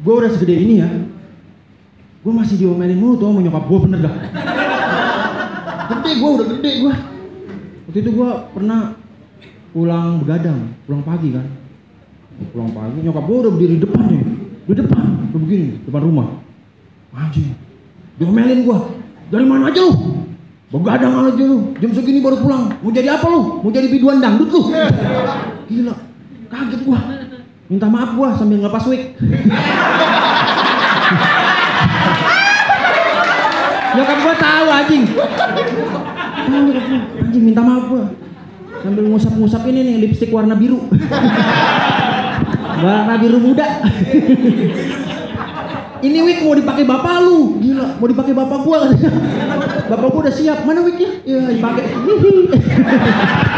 gue udah segede ini ya, gue masih diomelin mulu tuh sama nyokap gue, bener dah. Gede gue, udah gede gue. Waktu itu gue pernah pulang begadang, pulang pagi kan. Pulang pagi, nyokap gue udah berdiri depan nih, di depan, udah begini, depan rumah. Anjing, diomelin gue, dari mana aja lu? Begadang aja lu, jam segini baru pulang, mau jadi apa lu? Mau jadi biduan dangdut lu? Gila, kaget gue. Minta maaf gue sambil ngelepas wig. Nyokap gue tahu anjing. Anjing minta maaf gue. Sambil ngusap-ngusap ini nih lipstik warna biru. Warna biru muda. Ini wig mau dipakai bapak lu. Gila, mau dipakai bapak gua katanya. Bapak gua udah siap. Mana wignya? Ya, dipakai.